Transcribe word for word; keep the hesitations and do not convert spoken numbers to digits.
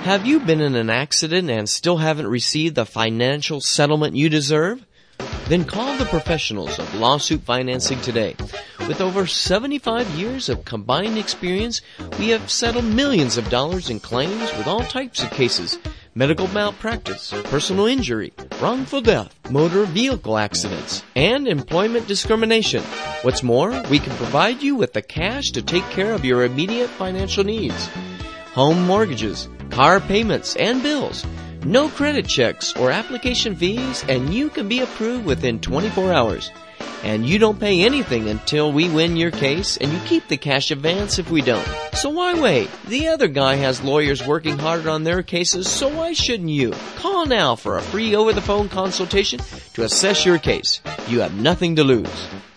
Have you been in an accident and still haven't received the financial settlement you deserve? Then call the professionals of lawsuit financing today. With over seventy-five years of combined experience, we have settled millions of dollars in claims with all types of cases: medical malpractice, personal injury, wrongful death, motor vehicle accidents, and employment discrimination. What's more, we can provide you with the cash to take care of your immediate financial needs. Home mortgages, car payments, and bills. No credit checks or application fees, and you can be approved within twenty-four hours. And you don't pay anything until we win your case, and you keep the cash advance if we don't. So why wait? The other guy has lawyers working hard on their cases, so why shouldn't you? Call now for a free over-the-phone consultation to assess your case. You have nothing to lose.